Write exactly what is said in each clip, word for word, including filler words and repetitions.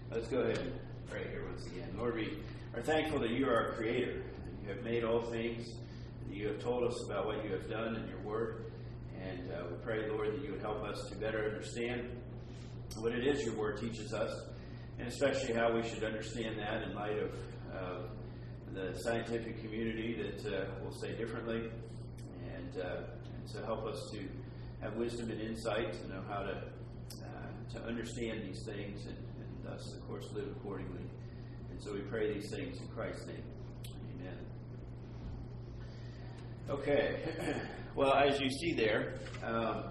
Let's go ahead and pray here once again. Lord, we are thankful that you are our creator. You have made all things. And you have told us about what you have done in your word. And uh, we pray, Lord, that you would help us to better understand what it is your word teaches us, and especially how we should understand that in light of uh, the scientific community that uh, will say differently. And, uh, and so help us to have wisdom and insight to know how to uh, to understand these things and, and thus, of course, live accordingly. And so we pray these things in Christ's name. Amen. Okay. Well, as you see there, um,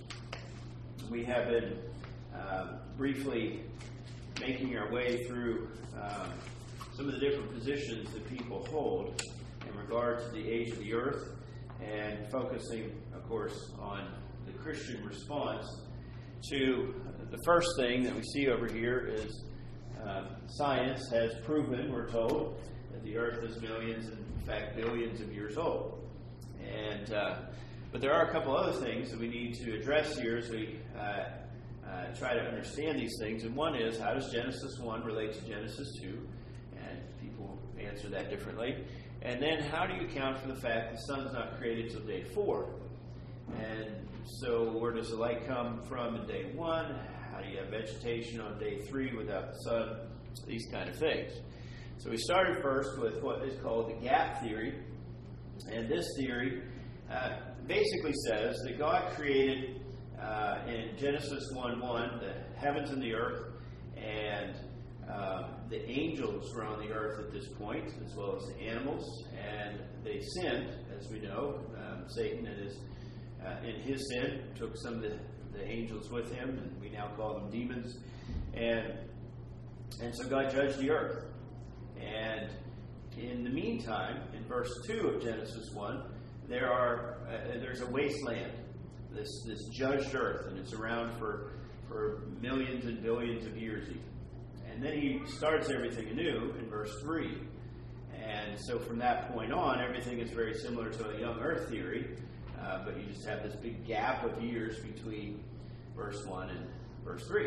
we have been uh, briefly making our way through um, some of the different positions that people hold in regard to the age of the earth, and focusing, of course, on the Christian response to the first thing that we see over here is uh, science has proven, we're told, that the earth is millions, and in fact billions of years old. And uh, but there are a couple other things that we need to address here as we uh, uh, try to understand these things. And one is, how does Genesis one relate to Genesis two? And people answer that differently. And then, how do you account for the fact the sun's not created till day four? And so, where does the light come from in day one? How do you have vegetation on day three without the sun? These kind of things. So we started first with what is called the gap theory. And this theory uh, basically says that God created uh, in Genesis one one the heavens and the earth, and uh, the angels were on the earth at this point, as well as the animals, and they sinned, as we know. Um, Satan and his, uh, in his sin took some of the, the angels with him, and we now call them demons. And and so God judged the earth. And in the meantime, in verse two of Genesis one, there are uh, there's a wasteland, this this judged earth, and it's around for for millions and billions of years even. And then he starts everything anew in verse three. And so from that point on, everything is very similar to a young earth theory, uh, but you just have this big gap of years between verse one and verse three.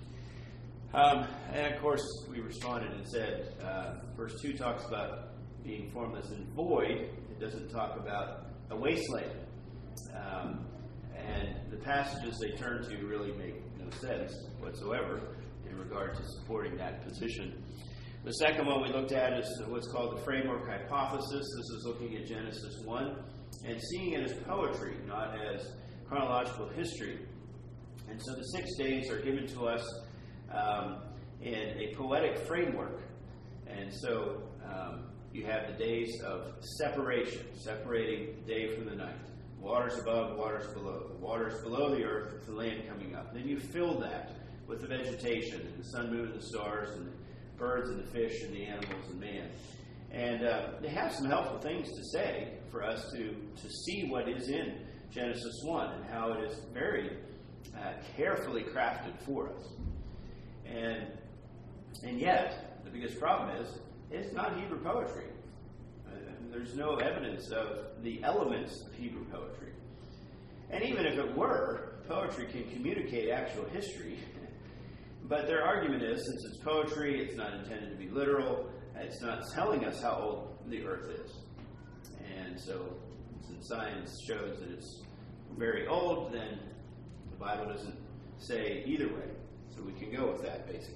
Um, and of course, we responded and said, uh, verse two talks about being formless and void. It doesn't talk about a wasteland. Um, and the passages they turn to really make no sense whatsoever in regard to supporting that position. The second one we looked at is what's called the framework hypothesis. This is looking at Genesis one and seeing it as poetry, not as chronological history. And so the six days are given to us um, in a poetic framework. And so um, you have the days of separation, separating the day from the night. Waters above, waters below. The waters below the earth with the land coming up. Then you fill that with the vegetation and the sun, moon, and the stars, and the birds and the fish and the animals and man. And uh, they have some helpful things to say for us to, to see what is in Genesis one and how it is very uh, carefully crafted for us. And and yet, the biggest problem is, it's not Hebrew poetry. Uh, there's no evidence of the elements of Hebrew poetry. And even if it were, poetry can communicate actual history. But their argument is, since it's poetry, it's not intended to be literal, it's not telling us how old the earth is. And so, since science shows that it's very old, then the Bible doesn't say either way. So we can go with that, basically.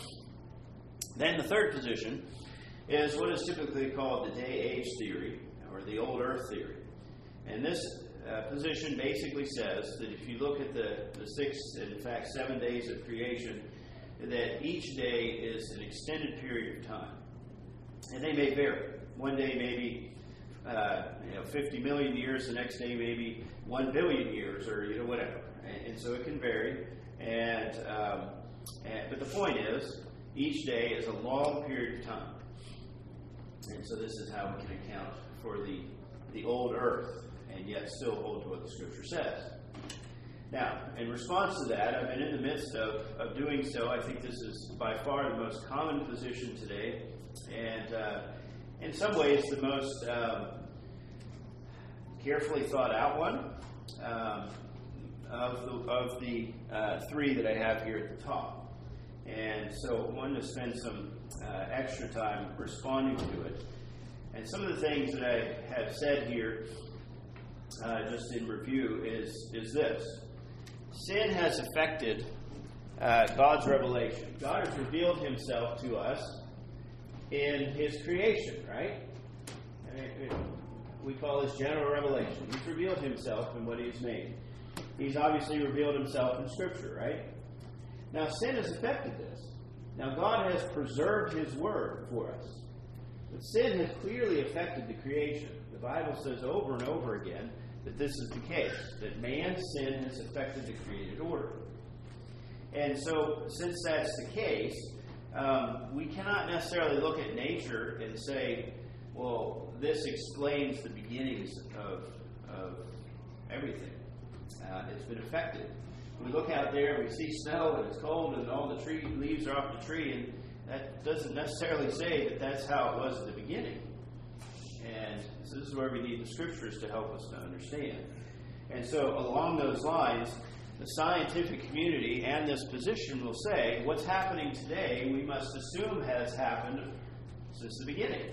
Then the third position is what is typically called the day-age theory, or the old earth theory. And this uh, position basically says that if you look at the, the six, in fact, seven days of creation, that each day is an extended period of time. And they may vary. One day maybe uh, you know, fifty million years, the next day maybe one billion years, or you know whatever. And, and so it can vary. And, um, and but the point is, each day is a long period of time. And so this is how we can account for the, the old earth, and yet still hold to what the Scripture says. Now, in response to that, I've been in the midst of, of doing so. I think this is by far the most common position today, and uh, in some ways the most um, carefully thought out one um, of the, of the uh, three that I have here at the top. And And so I wanted to spend some uh, extra time responding to it. And some of the things that I have said here, uh, just in review, is, is this. Sin has affected uh, God's revelation. God has revealed himself to us in his creation, right? I mean, we call this general revelation. He's revealed himself in what he's made. He's obviously revealed himself in Scripture, right? Now, sin has affected this. Now, God has preserved his word for us. But sin has clearly affected the creation. The Bible says over and over again that this is the case, that man's sin has affected the created order. And so, since that's the case, um, we cannot necessarily look at nature and say, well, this explains the beginnings of, of everything. Uh, it's been affected. We look out there and we see snow and it's cold and all the tree leaves are off the tree, and that doesn't necessarily say that that's how it was at the beginning. And so this is where we need the Scriptures to help us to understand. And so along those lines, the scientific community and this position will say what's happening today we must assume has happened since the beginning.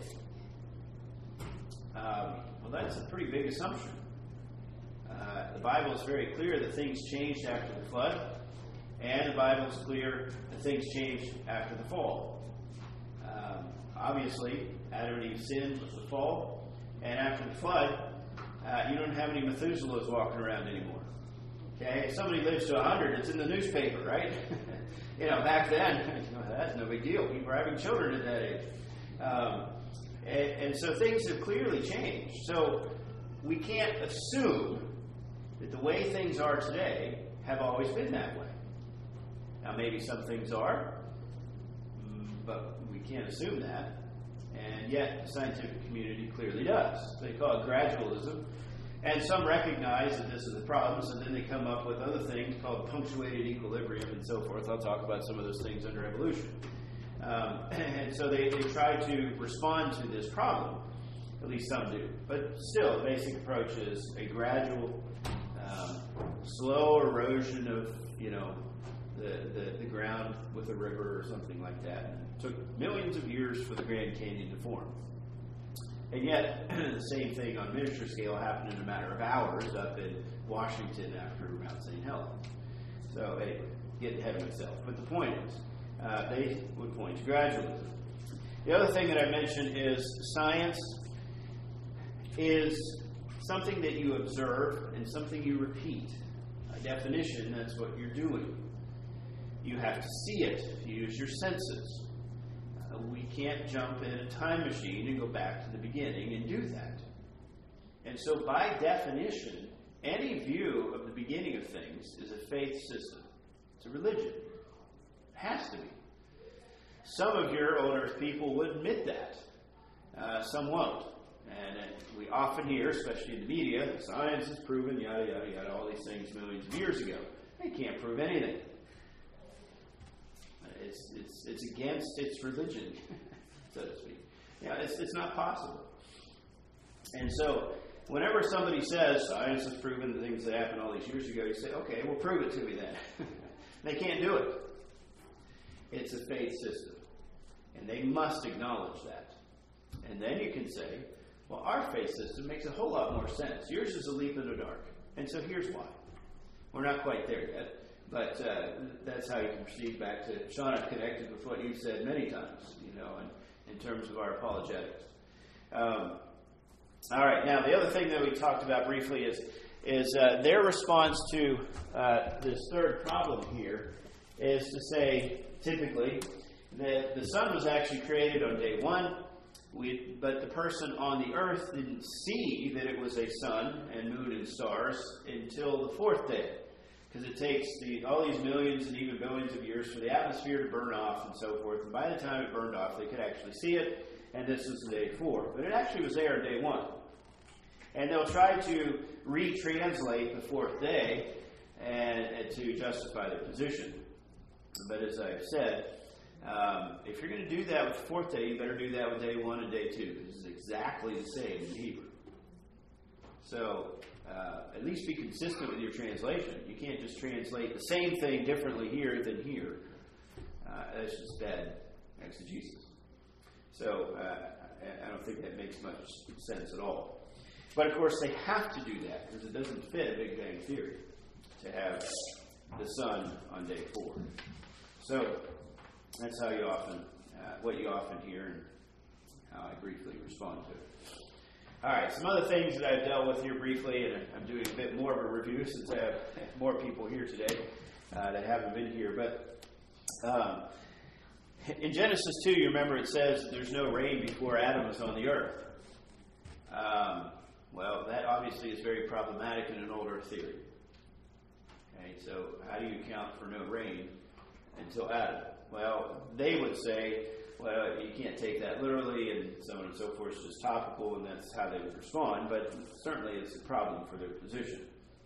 Um, well, that's a pretty big assumption. Uh, the Bible is very clear that things changed after the flood, and the Bible is clear that things changed after the fall. Um, obviously, Adam and Eve sinned with the fall, and after the flood, uh, you don't have any Methuselahs walking around anymore. Okay, if somebody lives to one hundred, it's in the newspaper, right? you know, back then, that's no big deal. People were having children at that age. Um, and, and so things have clearly changed. So we can't assume that the way things are today have always been that way. Now, maybe some things are, but we can't assume that. And yet, the scientific community clearly does. They call it gradualism. And some recognize that this is the problems, and then they come up with other things called punctuated equilibrium and so forth. I'll talk about some of those things under evolution. Um, and so they, they try to respond to this problem. At least some do. But still, the basic approach is a gradual, um, slow erosion of, you know, the, the, the ground with a river or something like that. And it took millions of years for the Grand Canyon to form. And yet, the same thing on miniature scale happened in a matter of hours up in Washington after Mount Saint Helens. So, anyway, getting ahead of myself. But the point is, uh, they would point to gradualism. The other thing that I mentioned is science is something that you observe and something you repeat. By definition, that's what you're doing. You have to see it. You use your senses. Uh, we can't jump in a time machine and go back to the beginning and do that. And so by definition, any view of the beginning of things is a faith system. It's a religion. It has to be. Some of your old earth people would admit that. Uh, some won't. And uh, we often hear, especially in the media, science has proven, yada, yada, yada, all these things millions of years ago. They can't prove anything. It's, it's, it's against its religion, so to speak. Yeah, it's, it's not possible. And so, whenever somebody says, science has proven the things that happened all these years ago, you say, okay, well, prove it to me then. They can't do it. It's a faith system. And they must acknowledge that. And then you can say, well, our faith system makes a whole lot more sense. Yours is a leap in the dark. And so here's why. We're not quite there yet. But uh, that's how you can proceed back to, Sean, I've connected with what you've said many times, you know, in, in terms of our apologetics. Um, all right, now the other thing that we talked about briefly is is uh, their response to uh, this third problem here is to say, typically, that the sun was actually created on day one, we, but the person on the earth didn't see that it was a sun and moon and stars until the fourth day. Because it takes the, all these millions and even billions of years for the atmosphere to burn off and so forth. And by the time it burned off, they could actually see it. And this was day four. But it actually was there on day one. And they'll try to retranslate the fourth day and, and to justify their position. But as I've said, um, if you're going to do that with the fourth day, you better do that with day one and day two. This is exactly the same in Hebrew. So, Uh, at least be consistent with your translation. You can't just translate the same thing differently here than here. Uh, that's just bad exegesis. So uh, I don't think that makes much sense at all. But of course they have to do that because it doesn't fit a Big Bang Theory to have the sun on day four. So that's how you often, uh, what you often hear and how I briefly respond to it. All right, some other things that I've dealt with here briefly, and I'm doing a bit more of a review since I have more people here today uh, that haven't been here. But um, in Genesis two, you remember it says there's no rain before Adam was on the earth. Um, well, that obviously is very problematic in an old earth theory. Okay, so how do you account for no rain until Adam? Well, they would say, well, you can't take that literally, and so on and so forth. It's just topical, and that's how they would respond. But certainly it's a problem for their position.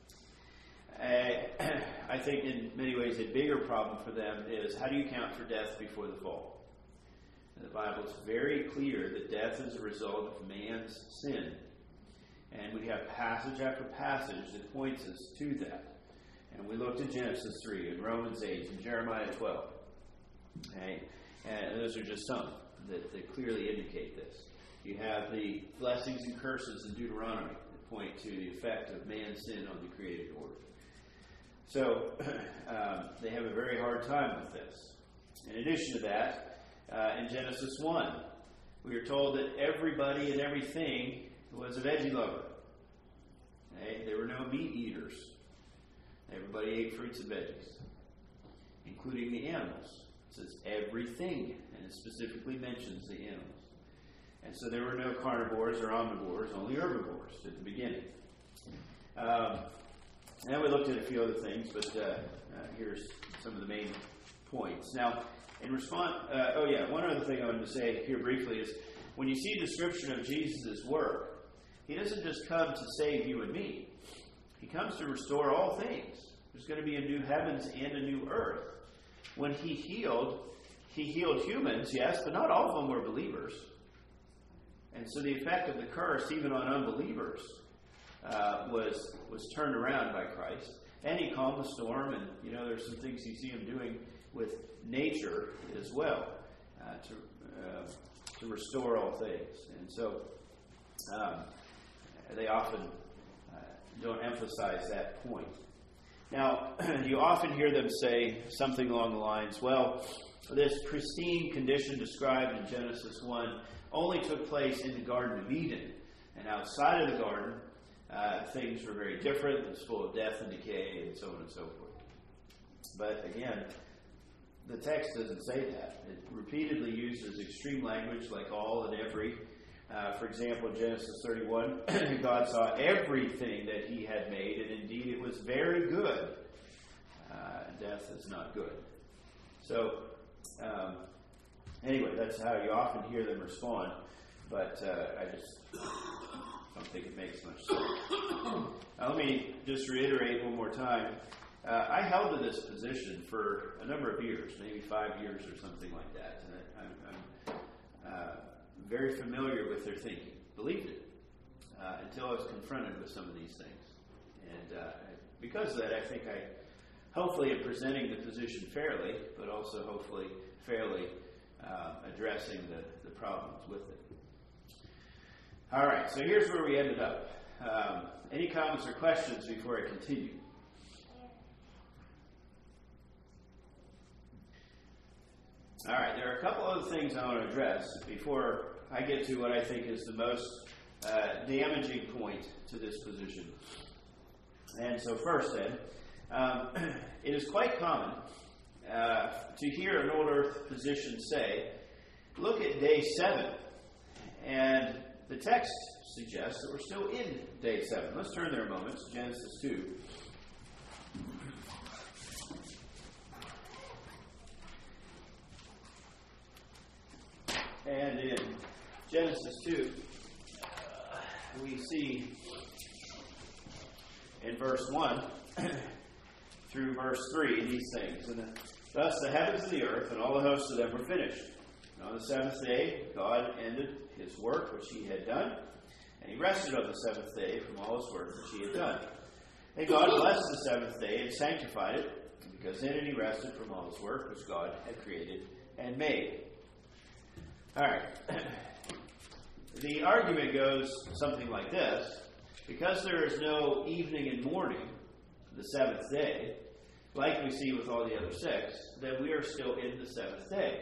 Uh, I think in many ways a bigger problem for them is how do you account for death before the fall? The Bible is very clear that death is a result of man's sin. And we have passage after passage that points us to that. And we looked at Genesis three and Romans eight and Jeremiah twelve. Okay? And those are just some that, that clearly indicate this. You have the blessings and curses in Deuteronomy that point to the effect of man's sin on the created order. So um, they have a very hard time with this. In addition to that, uh, in Genesis one, we are told that everybody and everything was a veggie lover. Okay? There were no meat eaters. Everybody ate fruits and veggies, including the animals. It says everything, and it specifically mentions the animals. And so there were no carnivores or omnivores, only herbivores at the beginning. Um, and we looked at a few other things, but uh, uh, here's some of the main points. Now, in response, uh, oh yeah, one other thing I wanted to say here briefly is when you see a description of Jesus' work, he doesn't just come to save you and me. He comes to restore all things. There's going to be a new heavens and a new earth. When he healed, he healed humans, yes, but not all of them were believers. And so the effect of the curse, even on unbelievers, uh, was was turned around by Christ. And he calmed the storm, and you know there's some things you see him doing with nature as well uh, to uh, to restore all things. And so um, they often uh, don't emphasize that point. Now, you often hear them say something along the lines, well, this pristine condition described in Genesis one only took place in the Garden of Eden. And outside of the garden, uh, things were very different. It was full of death and decay and so on and so forth. But again, the text doesn't say that. It repeatedly uses extreme language like all and every. Uh, for example, in Genesis thirty-one, God saw everything that he had made, and indeed it was very good. Uh, death is not good. So, um, anyway, that's how you often hear them respond, but uh, I just don't think it makes much sense. Now, let me just reiterate one more time. Uh, I held to this position for a number of years, maybe five years or something like that. And I, I'm, I'm uh, very familiar with their thinking. Believed it uh, until I was confronted with some of these things. And uh, because of that, I think I hopefully am presenting the position fairly, but also hopefully fairly uh, addressing the, the problems with it. All right, so here's where we ended up. Um, any comments or questions before I continue? All right, there are a couple other things I want to address before I get to what I think is the most uh, damaging point to this position. And so first then, um, it is quite common uh, to hear an old earth position say, look at day seven. And the text suggests that we're still in day seven. Let's turn there a moment to Genesis two. And in Genesis two, uh, we see in verse one through verse three these things. And thus the heavens and the earth and all the hosts of them were finished. And on the seventh day, God ended his work which he had done, and he rested on the seventh day from all his work which he had done. And God blessed the seventh day and sanctified it, because then he rested from all his work which God had created and made. All right. The argument goes something like this. Because there is no evening and morning, the seventh day, like we see with all the other six, then we are still in the seventh day.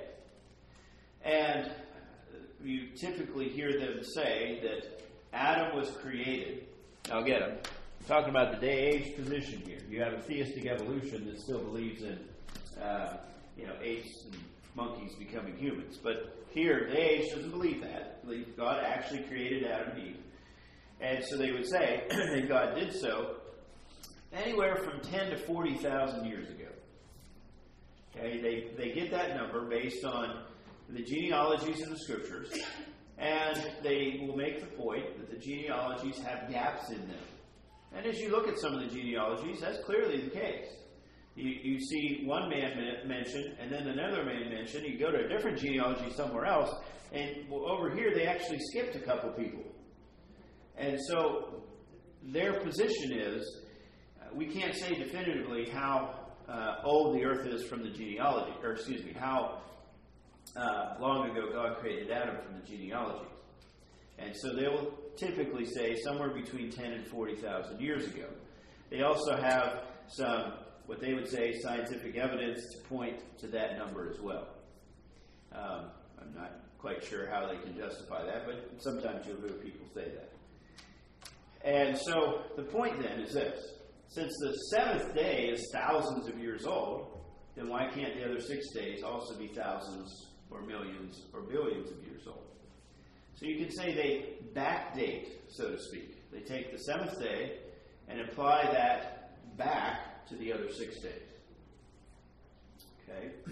And you typically hear them say that Adam was created. Now get them. I'm talking about the day-age position here. You have a theistic evolution that still believes in, uh, you know, apes and monkeys becoming humans. But here, day-age doesn't believe that. Believe God actually created Adam and Eve. And so they would say that God did so anywhere from ten to forty thousand years ago. Okay, they, they get that number based on the genealogies in the Scriptures, and they will make the point that the genealogies have gaps in them. And as you look at some of the genealogies, that's clearly the case. You, you see one man mentioned, and then another man mentioned. You go to a different genealogy somewhere else, and well, over here they actually skipped a couple people. And so their position is, uh, we can't say definitively how uh, old the earth is from the genealogy, or excuse me, how uh, long ago God created Adam from the genealogy. And so they will typically say somewhere between ten and forty thousand years ago. They also have some, what they would say, scientific evidence to point to that number as well. Um, I'm not quite sure how they can justify that, but sometimes you'll hear people say that. And so the point then is this. Since the seventh day is thousands of years old, then why can't the other six days also be thousands or millions or billions of years old? So you can say they backdate, so to speak. They take the seventh day and apply that back to the other six days. Okay?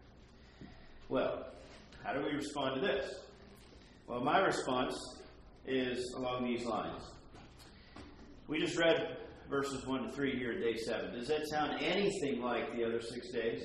Well, how do we respond to this? Well, my response is along these lines. We just read verses one to three here at day seven. Does that sound anything like the other six days?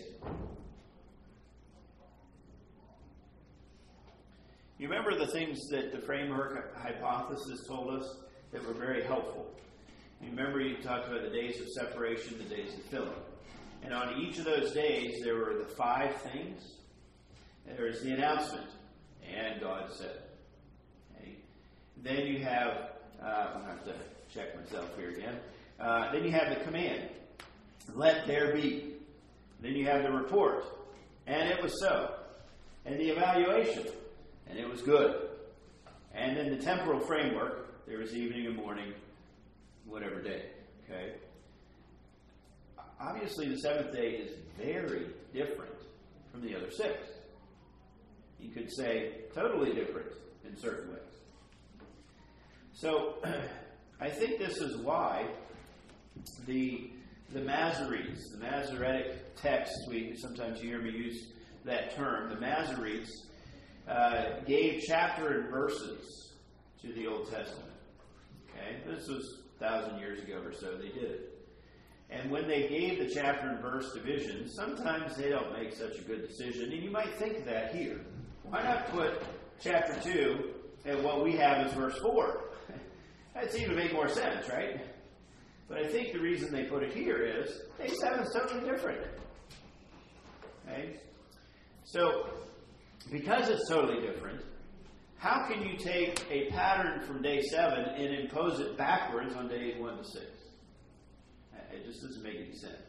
You remember the things that the framework hypothesis told us that were very helpful. You remember you talked about the days of separation, the days of filling. And on each of those days, there were the five things. There was the announcement, and God said. Okay. Then you have, uh, I'm going to have to check myself here again. Uh, then you have the command, let there be. Then you have the report, and it was so. And the evaluation, and it was good. And then the temporal framework, there was evening and morning, whatever day. Okay. Obviously, the seventh day is very different from the other six. You could say totally different in certain ways. So, I think this is why the the Masoretes, the Masoretic text, we sometimes you hear me use that term, the Masoretes uh, gave chapter and verses to the Old Testament. Okay, this was a thousand years ago or so they did it. And when they gave the chapter and verse division, sometimes they don't make such a good decision. And you might think that here. Why not put chapter two and what we have is verse four? That seemed to make more sense, right? But I think the reason they put it here is day seven is totally different. Okay? So, because it's totally different, how can you take a pattern from day seven and impose it backwards on days one to six? It just doesn't make any sense.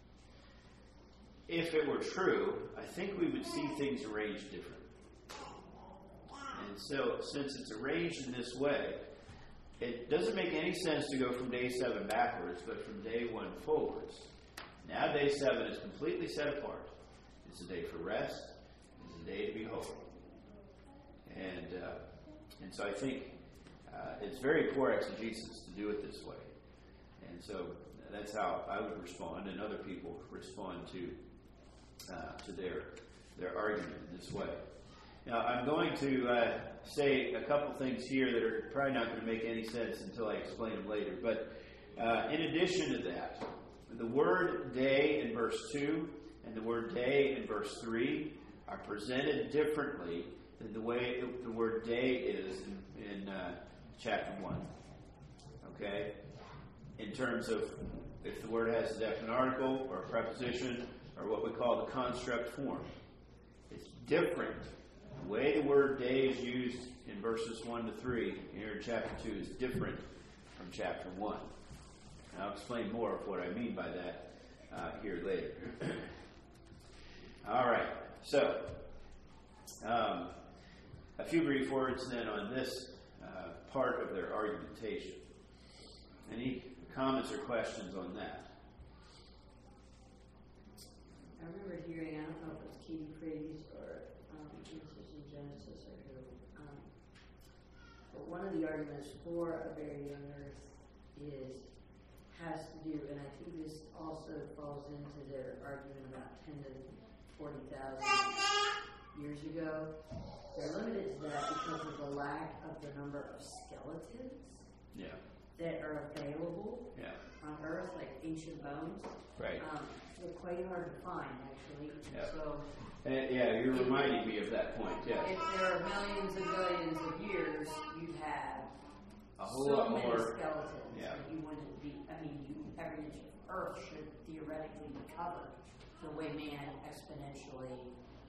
If it were true, I think we would see things arranged differently. And so, since it's arranged in this way, it doesn't make any sense to go from day seven backwards, but from day one forwards. Now day seven is completely set apart. It's a day for rest. It's a day to be holy. And, uh, and so I think uh, it's very poor exegesis to do it this way. And so that's how I would respond, and other people respond to uh, to their their argument in this way. Now, I'm going to uh, say a couple things here that are probably not going to make any sense until I explain them later. But uh, in addition to that, the word day in verse two and the word day in verse three are presented differently than the way the word day is in, in uh, chapter one. Okay? In terms of if the word has a definite article or a preposition or what we call the construct form. It's different. The way the word day is used in verses one to three here in chapter two is different from chapter one. And I'll explain more of what I mean by that uh, here later. All right. So, um, a few brief words then on this uh, part of their argumentation. Any comments or questions on that? I remember hearing, I don't know if it was Katie Praise or um, Genesis and Genesis or who, um, but one of the arguments for a very young earth is, has to do, and I think this also falls into their argument about ten to forty thousand years ago. They're limited to that because of the lack of the number of skeletons Yeah. that are available Yeah. on Earth, like ancient bones. Right. Um, they're quite hard to find, actually. Yeah. So, And, yeah, you're reminding me of that point. Yeah. if there are millions and billions of years, you'd have A whole so lot many more. skeletons Yeah. that you wouldn't be. I mean, you, every inch of Earth should theoretically be covered the way man exponentially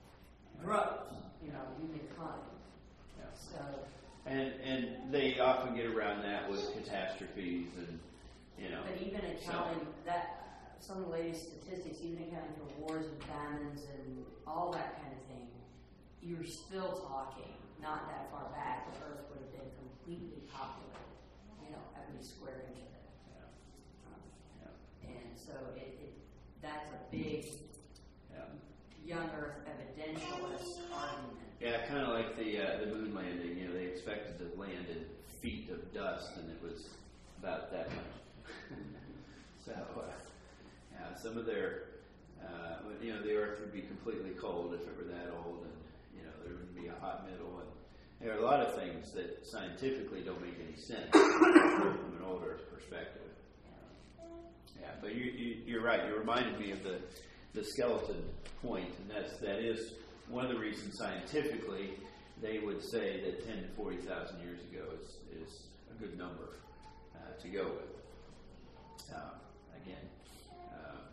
grows. You know, humankind. Yeah. So, And and they often get around that with catastrophes and, you know. but even accounting that, some of the latest statistics, even accounting for wars and famines and all that kind of thing, you're still talking not that far back. The Earth would have been completely populated, you know, every square inch of it. Yeah. Um, Yeah. and so it, it that's a big Yeah. young Earth evidentialist argument. Yeah, kind of like the uh, the moon landing. You know, they expected to land in feet of dust, and it was about that much. so, uh, yeah, some of their, uh, you know, the Earth would be completely cold if it were that old, and you know, there would be a hot middle, and there are a lot of things that scientifically don't make any sense from an old Earth perspective. Yeah, but you, you, you're right. You reminded me of the the skeleton point, and that's that is. One of the reasons scientifically they would say that ten to forty thousand years ago is, is a good number uh, to go with. Uh, again, uh,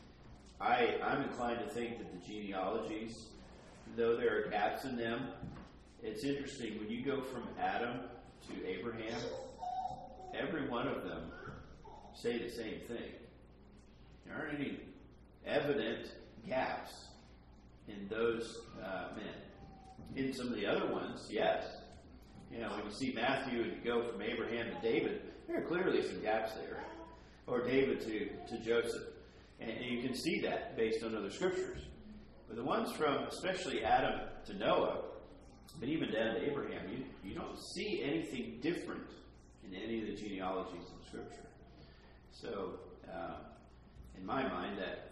I, I'm inclined to think that the genealogies, though there are gaps in them, it's interesting. When you go from Adam to Abraham, every one of them say the same thing. There aren't any evident gaps in those uh, men. In some of the other ones, yes. You know, when you see Matthew and you go from Abraham to David, there are clearly some gaps there. Or David to, to Joseph. And, and you can see that based on other scriptures. But the ones from especially Adam to Noah, but even down to Abraham, you, you don't see anything different in any of the genealogies of Scripture. So, uh, in my mind, that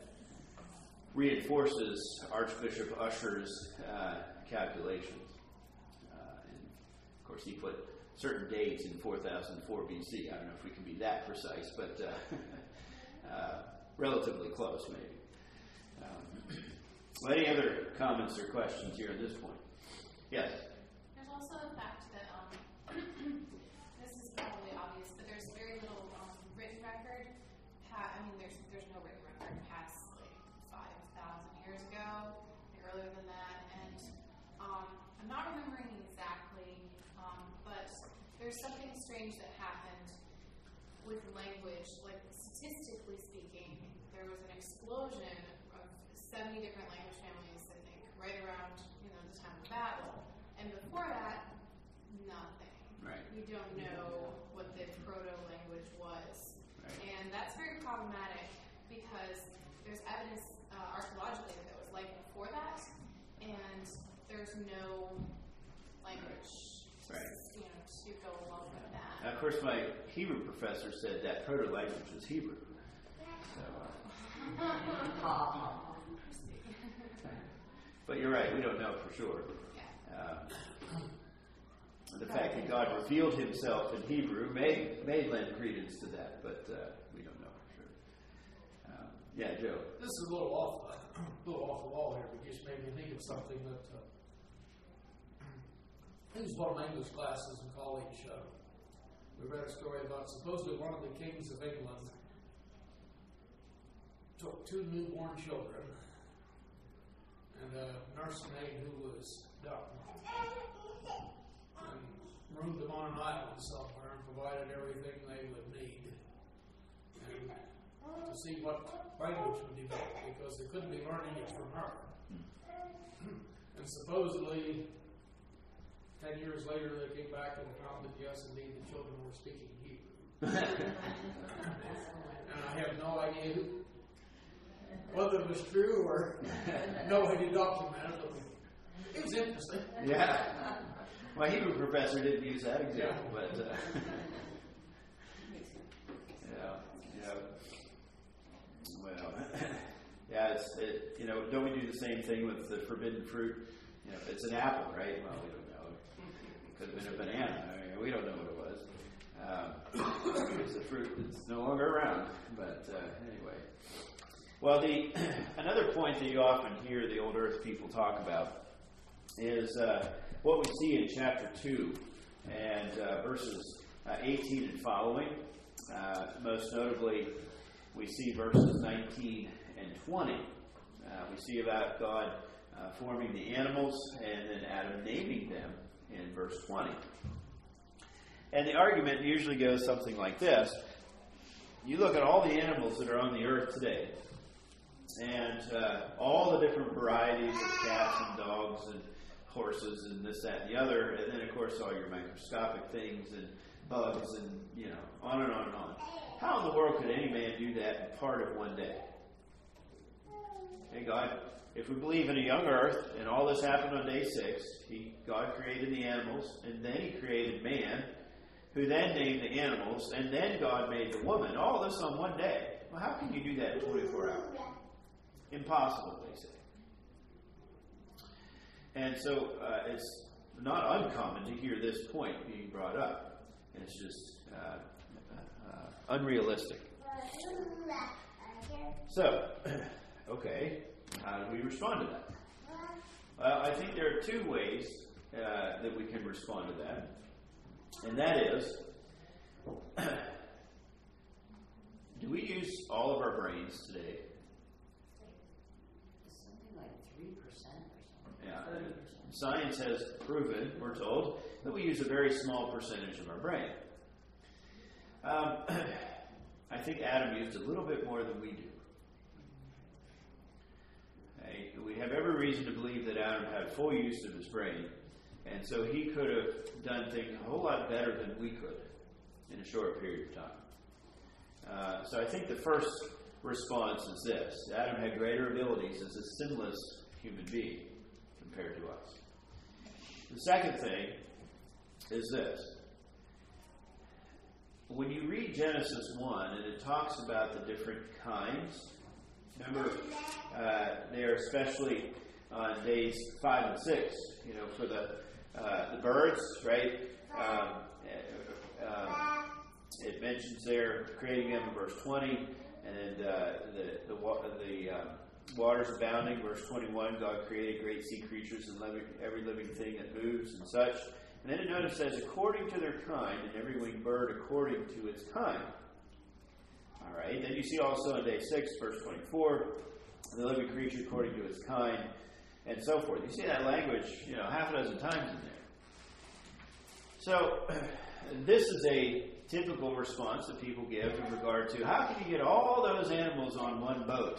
reinforces Archbishop Usher's uh, calculations. Uh, and of course, he put certain dates in four thousand four B C. I don't know if we can be that precise, but uh, uh, relatively close, maybe. Um, well, any other comments or questions here at this point? Yes? There's also the fact that, um, this is probably obvious, but there's very little um, written record. Pa- I mean, there's there's no written record past like five thousand years ago, like earlier than that, and um, I'm not remembering exactly, um, but there's something strange that happened with language. Like statistically speaking, there was an explosion of seventy different language families, I think, right around you know the time of Babel, and before that, nothing. Right. We don't know what the proto-language was. Right. And that's very problematic because there's evidence uh, archaeologically that there was life before that, and there's no language Right. you know, to go along with that. Now, of course, my Hebrew professor said that proto-language was Hebrew. So, uh, but you're right, we don't know for sure. Uh, the fact that God revealed himself in Hebrew may, may lend credence to that, but uh, we don't know for sure. Um, yeah, Joe. This is a little off, uh, a little off the wall here, but just made me think of something that uh, I think it was one of my English classes in college. Uh, we read a story about supposedly one of the kings of England took two newborn children and a nursemaid who was dumb and moved them on an island somewhere and provided everything they would need, and to see what language would develop, because they couldn't be learning it from her. And supposedly, ten years later, they came back and found that yes, indeed, the children were speaking Hebrew. And I have no idea who, whether it was true or nobody documented it. It was interesting. Yeah. My Hebrew professor didn't use that example, Yeah. but uh, yeah, yeah. Well, yeah, it's it, you know, don't we do the same thing with the forbidden fruit? You know, it's an apple, right? Well, we don't know. It could have been a banana. I mean, we don't know what it was. Um, it's a fruit that's no longer around. But uh, anyway, well, the another point that you often hear the old Earth people talk about is uh, what we see in chapter two and uh, verses uh, eighteen and following. Uh, most notably, we see verses nineteen and twenty. Uh, we see about God uh, forming the animals and then Adam naming them in verse twenty. And the argument usually goes something like this. You look at all the animals that are on the earth today, and uh, all the different varieties of cats and dogs and horses and this, that, and the other, and then, of course, all your microscopic things and bugs and, you know, on and on and on. How in the world could any man do that in part of one day? Hey, God, if we believe in a young earth and all this happened on day six, he, God created the animals, and then he created man, who then named the animals, and then God made the woman. All this on one day. Well, how can you do that in twenty-four hours? Impossible, they say. And so uh, it's not uncommon to hear this point being brought up. It's just uh, uh, unrealistic. So, okay, how do we respond to that? Well, I think there are two ways uh, that we can respond to that. And that is, do we use all of our brains today? Something like three percent or something. Yeah. thirty percent. Science has proven, we're told, that we use a very small percentage of our brain. Um, I think Adam used a little bit more than we do. Okay? We have every reason to believe that Adam had full use of his brain, and so he could have done things a whole lot better than we could in a short period of time. Uh, so I think the first response is this. Adam had greater abilities as a sinless human being compared to us. The second thing is this. When you read Genesis one, and it talks about the different kinds, remember, uh, they are especially on days five and six, you know, for the uh, the birds, right? Um, uh, it mentions there creating them in verse twenty, and uh, the the the um, waters abounding, verse twenty-one. God created great sea creatures and living, every living thing that moves and such. And then it notice says, according to their kind, and every winged bird according to its kind. All right. Then you see also in day six, verse twenty-four, the living creature according to its kind, and so forth. You see that language, you know, half a dozen times in there. So this is a typical response that people give in regard to how can you get all those animals on one boat?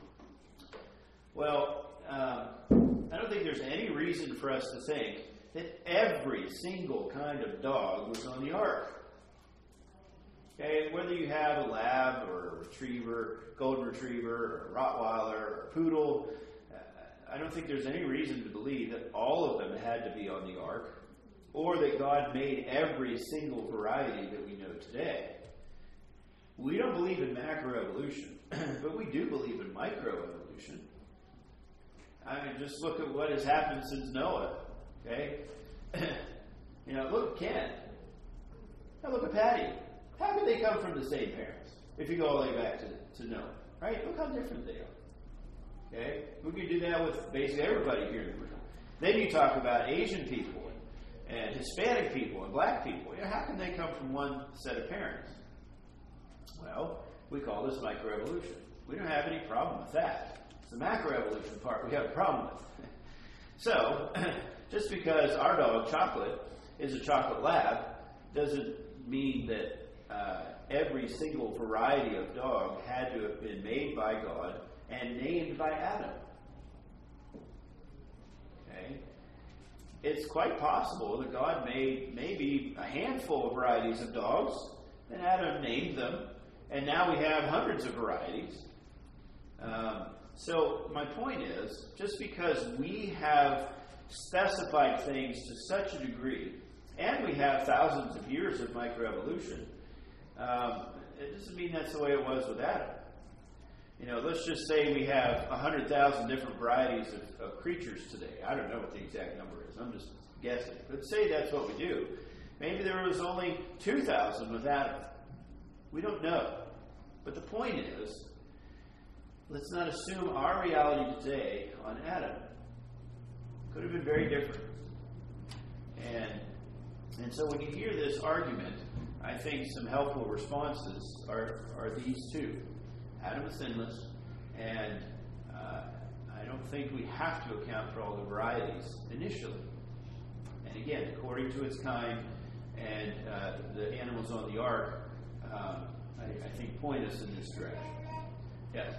Well, uh, I don't think there's any reason for us to think that every single kind of dog was on the ark. Okay, whether you have a lab or a retriever, golden retriever, or a Rottweiler, or a poodle, uh, I don't think there's any reason to believe that all of them had to be on the ark, or that God made every single variety that we know today. We don't believe in macroevolution, but we do believe in microevolution. I mean, just look at what has happened since Noah. Okay? You know, look at Ken. Now look at Patty. How could they come from the same parents? If you go all the way back to, to Noah. Right? Look how different they are. Okay? We can do that with basically everybody here in the room. Then you talk about Asian people and, and Hispanic people and black people. You know, how can they come from one set of parents? Well, we call this microevolution. We don't have any problem with that. It's the macroevolution part we have a problem with. So, just because our dog, Chocolate, is a chocolate lab, doesn't mean that uh, every single variety of dog had to have been made by God and named by Adam. Okay? It's quite possible that God made maybe a handful of varieties of dogs, and Adam named them, and now we have hundreds of varieties. Um, so my point is, just because we have specified things to such a degree, and we have thousands of years of microevolution, um, it doesn't mean that's the way it was with Adam. You know, let's just say we have one hundred thousand different varieties of, of creatures today. I don't know what the exact number is. I'm just guessing. But say that's what we do. Maybe there was only two thousand with Adam. We don't know. But the point is, let's not assume our reality today on Adam. Could have been very different. And, and so when you hear this argument, I think some helpful responses are, are these two. Adam is sinless, and uh, I don't think we have to account for all the varieties initially. And again, according to its kind, and uh, the animals on the ark, um, I, I think point us in this direction. Yes?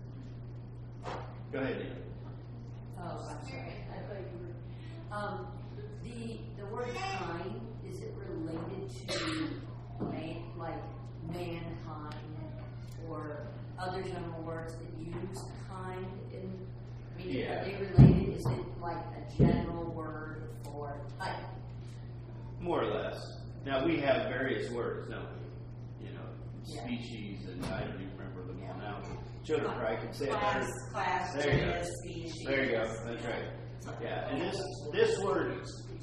Go ahead, Nina. Oh, I'm sorry. I thought you were. Um, the the word kind, is it related to man, like mankind, or other general words that use kind in? I mean, Yeah. are they related? Is it like a general word for type? More or less. Now, we have various words, don't we? You know, Yeah. species, and I don't even remember them all now. Children probably can say it Class, better. class, There you go. genus, species. There you go. That's right. Yeah, and this this word,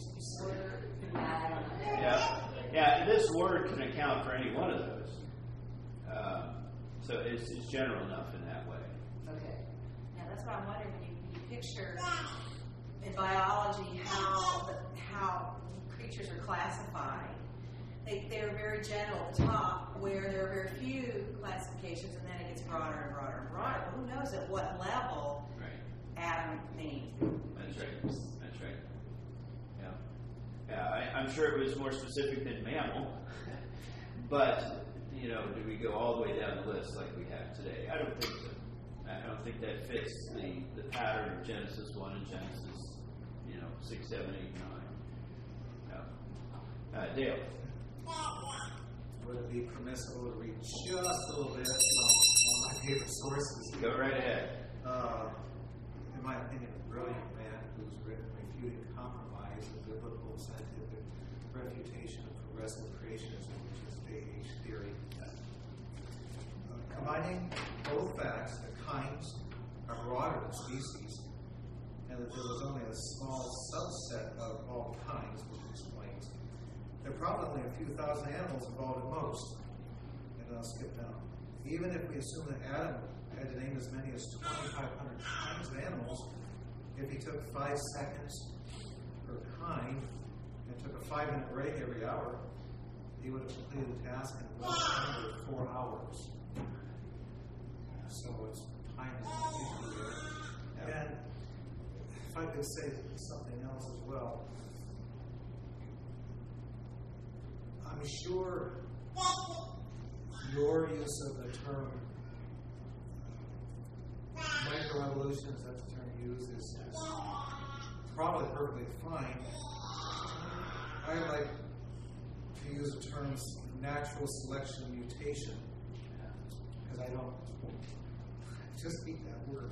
I don't know. yeah, yeah, this word can account for any one of those. Um, so it's, it's general enough in that way. Okay. Yeah, that's what I'm wondering when you, when you picture in biology how the, how creatures are classified. They they're very general at the top, where there are very few classifications, and then it gets broader and broader and broader. Well, who knows at what level Right. Adam named? That's right. That's right. Yeah. Yeah, I, I'm sure it was more specific than mammal, but you know, do we go all the way down the list like we have today? I don't think so. I don't think that fits the, the pattern of Genesis one and Genesis, you know, six, seven, eight, nine. No. Uh, Dale. Would it be permissible to read just a little bit from one of my favorite sources? Go right ahead. Uh, in my opinion, a brilliant man who's written Refuting Compromise, a biblical scientific refutation of progressive creationism, which is J H theory. Uh, combining both facts that kinds are broader than species, and that there was only a small subset of all kinds, which explains there are probably a few thousand animals involved at most. And I'll skip down. Even if we assume that Adam had to name as many as twenty-five hundred kinds of animals, if he took five seconds per kind and took a five-minute break every hour, he would have completed the task in less under four hours. So it's time is an issue there. And if I could say something else as well. I'm sure your use of the term microevolution, is that the term used, is, is probably perfectly fine. I like to use the terms natural selection mutation, because I don't just eat that word.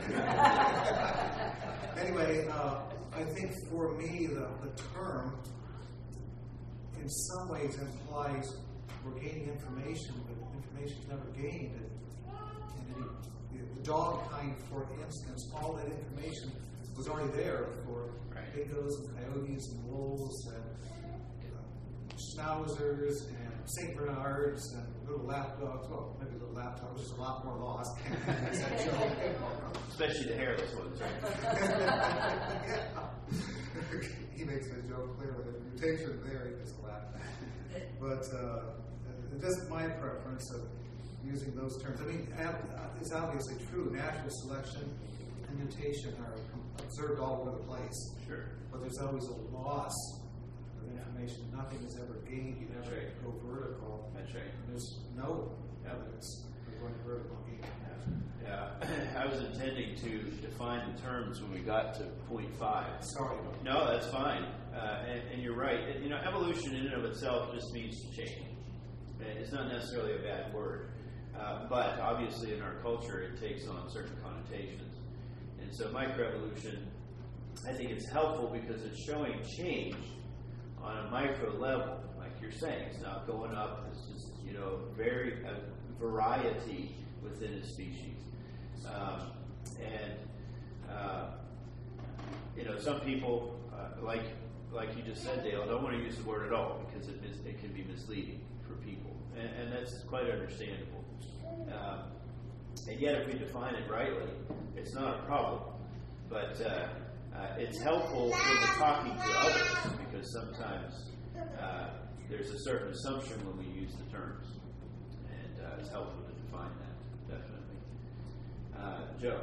Anyway, uh, I think for me the, the term in some ways implies we're gaining information, but information is never gained. And any, the dog kind, for instance, all that information was already there for Right. dingoes and coyotes and wolves and uh, schnauzers and Saint Bernards and little lap dogs. Well, maybe little lap dogs, just a lot more lost. That's that joke. Especially the hairless ones, right? Yeah. He makes that joke clearly. The mutation there, he gets a laugh. But uh, just my preference of using those terms. I mean, ab- it's obviously true. Natural selection and mutation are com- observed all over the place. Sure. But there's always a loss of information. Nothing is ever gained. You That's never right. go vertical. That's right. And there's no evidence of going vertical gain. Yeah, I was intending to define the terms when we got to point five. Sorry about that. No, that's fine, uh, and, and you're right. It- you know, evolution in and of itself just means to change. And it's not necessarily a bad word, uh, but obviously in our culture it takes on certain connotations. And so microevolution, I think it's helpful because it's showing change on a micro level, like you're saying. It's not going up. It's just, you know, very a variety within a species. Um, and uh, you know, some people, uh, like like you just said, Dale, don't want to use the word at all because it mis- it can be misleading for people, and, and that's quite understandable. Um, and yet, if we define it rightly, it's not a problem. But uh, uh, it's helpful when we're talking to others because sometimes uh, there's a certain assumption when we use the terms, and uh, it's helpful to define that, definitely. Uh, Joe?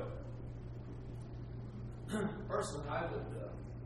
Personally, I would, uh,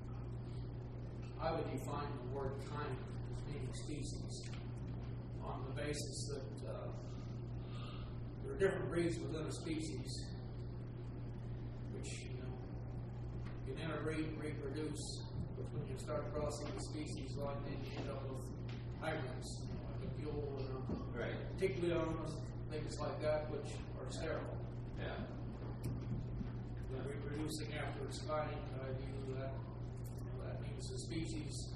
I would define the word kind as meaning species on the basis that uh, there are different breeds within a species, which, you know, you can interbreed and reproduce, but when you start crossing the species line, then you end up with hybrids, you know, like a mule and a Right. Tiglions, things like that, which are sterile. Yeah. They're reproducing after its kind. I view that that means the species.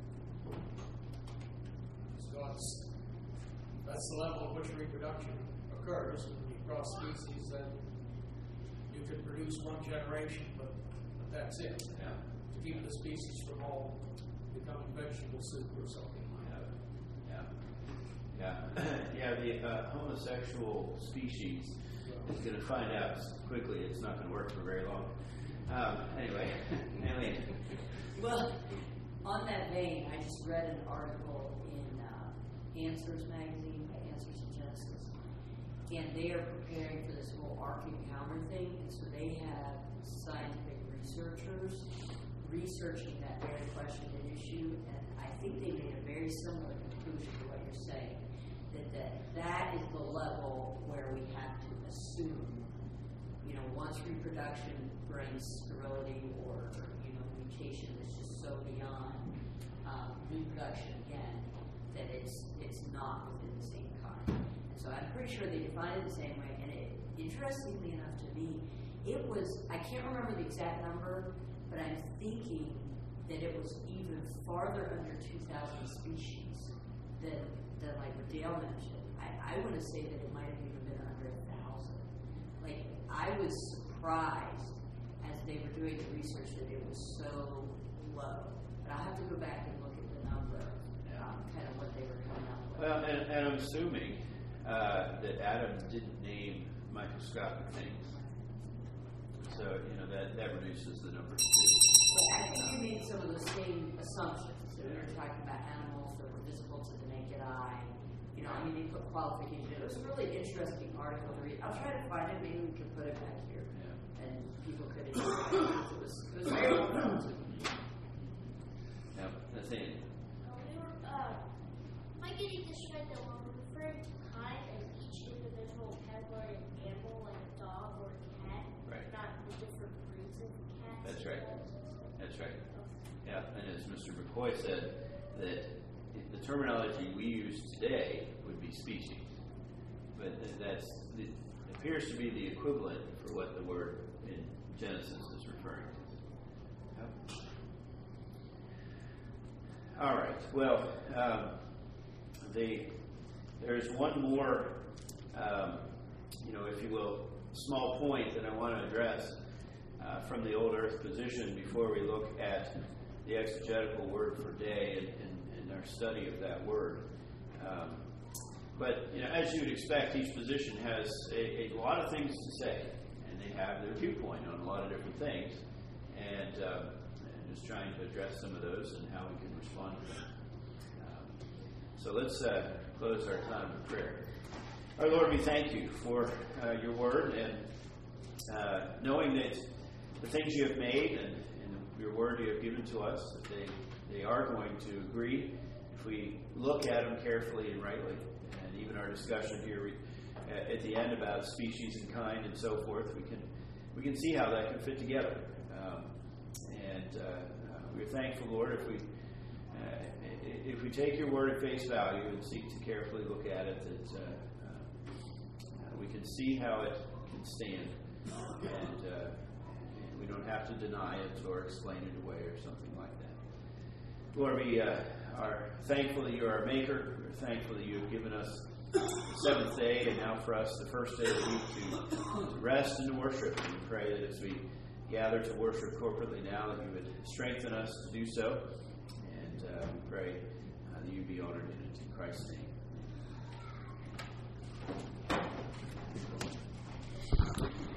So that's, that's the level at which reproduction occurs. When you cross species, then you can produce one generation, but, but that's it. Yeah. To keep the species from all becoming vegetable soup or something like that. Yeah. Yeah. Yeah, the uh, homosexual species is going to find out quickly it's not going to work for very long. Um, anyway, Eileen. Well, on that vein, I just read an article in uh, Answers magazine by Answers in Genesis, and they are preparing for this whole Ark Encounter thing, and so they have scientific researchers researching that very question and issue, and I think they made a very similar conclusion to what you're saying, that that, that is the level where we have to assume, you know, once reproduction brings sterility or, you know, mutation that's just so beyond um, reproduction again, that it's it's not within the same kind. And so I'm pretty sure they define it the same way. And it, interestingly enough to me, it was, I can't remember the exact number, but I'm thinking that it was even farther under two thousand species than, than like what Dale mentioned. I, I want to say that it might have even been under a thousand. Like, I was surprised as they were doing the research that it was so low. But I'll have to go back and look at the number, um, kind of what they were coming up with. Well, and, and I'm assuming uh, that Adam didn't name microscopic things. So, you know, that, that reduces the number too. But I think you made some of the same assumptions. So we were talking about animals that were visible to the naked eye. You know, I mean, they put qualification. It was a really interesting article to read. I'll try to find it. Maybe we can put it back here. Yeah. And people could enjoy it. It was, it was very well done. Yeah, that's it. Uh, we were, uh, am I getting this right that when we're referring to kind as each individual category of animal, like a dog or a cat, Right. not the different breeds of cats? That's right. Okay. That's right. Yeah, and as Mister McCoy said, that the terminology we use today would be species, but that's the, appears to be the equivalent for what the word in Genesis is referring to. Yep. All right. Well, um, the there's one more, um, you know, if you will, small point that I want to address uh, from the old Earth position before we look at the exegetical word for day and, and, and our study of that word. Um, but you know, as you would expect, each position has a, a lot of things to say, and they have their viewpoint on a lot of different things, and, um, and just trying to address some of those and how we can respond to them. Um, so let's uh, close our time with prayer. Our Lord, we thank you for uh, your word, and uh, knowing that the things you have made and, and your word you have given to us, that they, they are going to agree if we look at them carefully and rightly. And even our discussion here we, uh, at the end about species and kind and so forth, we can we can see how that can fit together. Um, and uh, uh, we're thankful, Lord, if we uh, if we take your word at face value and seek to carefully look at it, that uh, uh, we can see how it can stand, and, uh, and we don't have to deny it or explain it away or something like that. Lord, we uh, are thankful that you are our maker. We're thankful that you have given us the seventh day, and now for us the first day of the week to, to rest and to worship. And we pray that as we gather to worship corporately now, that you would strengthen us to do so. And uh, we pray uh, that you be honored in it. In Christ's name.